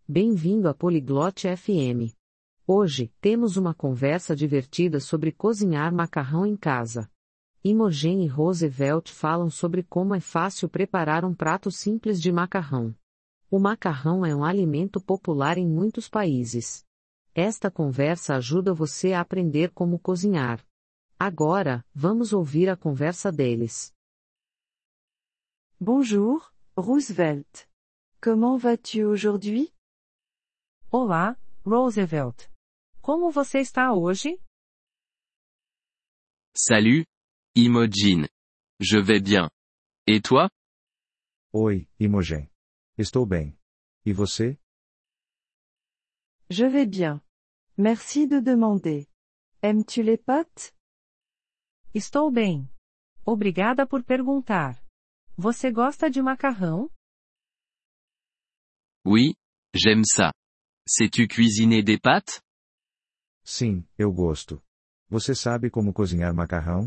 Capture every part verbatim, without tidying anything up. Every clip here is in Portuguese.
Bem-vindo à Poliglote F M. Hoje, temos uma conversa divertida sobre cozinhar macarrão em casa. Imogen e Roosevelt falam sobre como é fácil preparar um prato simples de macarrão. O macarrão é um alimento popular em muitos países. Esta conversa ajuda você a aprender como cozinhar. Agora, vamos ouvir a conversa deles. Bonjour, Roosevelt. Comment vas-tu aujourd'hui? Olá, Roosevelt. Como você está hoje? Salut, Imogen. Je vais bien. Et toi? Oi, Imogen. Estou bem. E você? Je vais bien. Merci de demander. Aimes-tu les pâtes? Estou bem. Obrigada por perguntar. Você gosta de macarrão? Oui, j'aime ça. Sais-tu cuisiner des pâtes? Sim, eu gosto. Você sabe como cozinhar macarrão?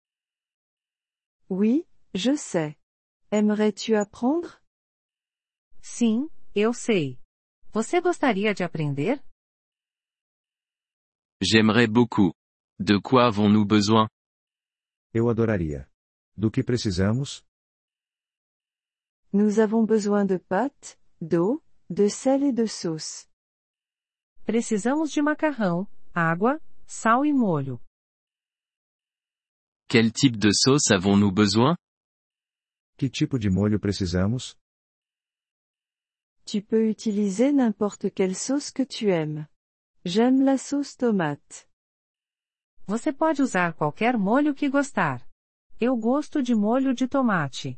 Oui, je sais. Aimerais-tu apprendre? Sim, eu sei. Você gostaria de aprender? J'aimerais beaucoup. De quoi avons-nous besoin? Eu adoraria. Do que precisamos? Nous avons besoin de pâtes, d'eau, de sel et de sauce. Precisamos de macarrão, água, sal e molho. Quel type de sauce avons-nous besoin? Que tipo de molho precisamos? Tu peux utiliser n'importe quelle sauce que tu aimes. J'aime la sauce tomate. Você pode usar qualquer molho que gostar. Eu gosto de molho de tomate.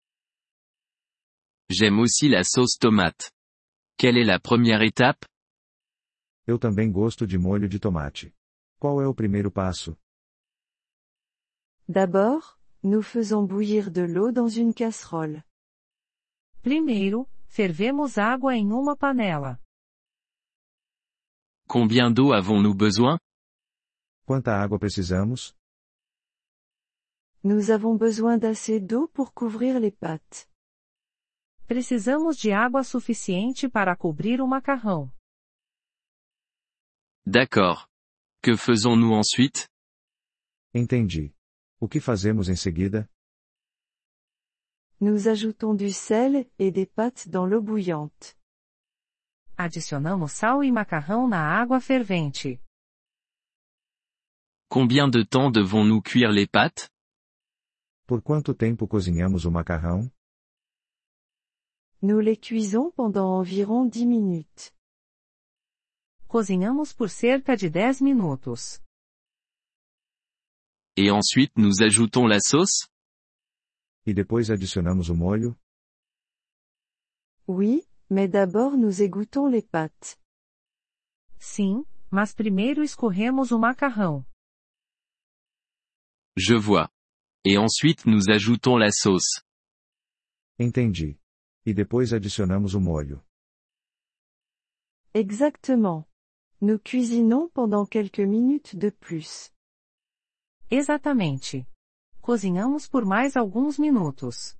J'aime aussi la sauce tomate. Quelle est la première étape? Eu também gosto de molho de tomate. Qual é o primeiro passo? D'abord, nous faisons bouillir de l'eau dans une casserole. Primeiro, fervemos água em uma panela. Combien d'eau avons-nous besoin? Quanta água precisamos? Nous avons besoin d'assez d'eau pour couvrir les pâtes. Precisamos de água suficiente para cobrir o macarrão. D'accord. Que faisons-nous ensuite? Entendi. O que fazemos em seguida? Nous ajoutons du sel et des pâtes dans l'eau bouillante. Adicionamos sal e macarrão na água fervente. Combien de temps devons-nous cuire les pâtes? Por quanto tempo cozinhamos o macarrão? Nous les cuisons pendant environ dix minutes. Cozinhamos por cerca de dez minutos. Et ensuite nous ajoutons la sauce? E depois adicionamos o molho? Oui, mais d'abord nous égouttons les pâtes. Sim, mas primeiro escorremos o macarrão. Je vois. Et ensuite nous ajoutons la sauce. Entendi. E depois adicionamos o molho. Exactement. Nous cuisinons pendant quelques minutes de plus. Exatamente. Cozinhamos por mais alguns minutos.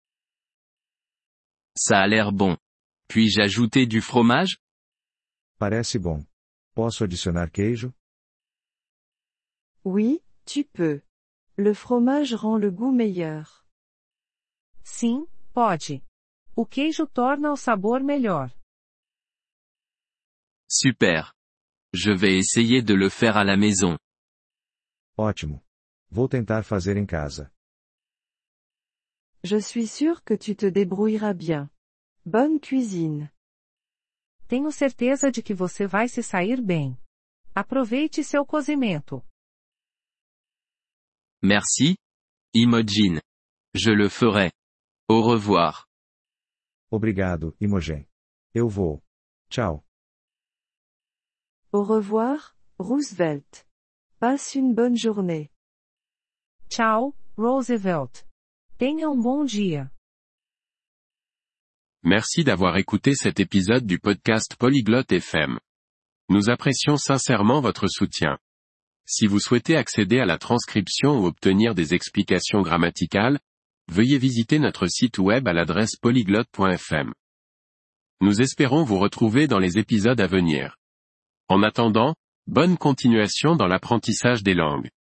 Ça a l'air bon. Puis-je ajouter du fromage? Parece bom. Posso adicionar queijo? Oui, tu peux. Le fromage rend le goût meilleur. Sim, pode. O queijo torna o sabor melhor. Super. Je vais essayer de le faire à la maison. Ótimo. Vou tentar fazer em casa. Je suis sûr que tu te débrouilleras bien. Bonne cuisine. Tenho certeza de que você vai se sair bem. Aproveite seu cozimento. Merci, Imogen. Je le ferai. Au revoir. Obrigado, Imogen. Eu vou. Tchau. Au revoir, Roosevelt. Passe une bonne journée. Tchau, Roosevelt. Tenha um bom dia. Merci d'avoir écouté cet épisode du podcast Polyglotte F M. Nous apprécions sincèrement votre soutien. Si vous souhaitez accéder à la transcription ou obtenir des explications grammaticales, veuillez visiter notre site web à l'adresse polyglotte point f m. Nous espérons vous retrouver dans les épisodes à venir. En attendant, bonne continuation dans l'apprentissage des langues.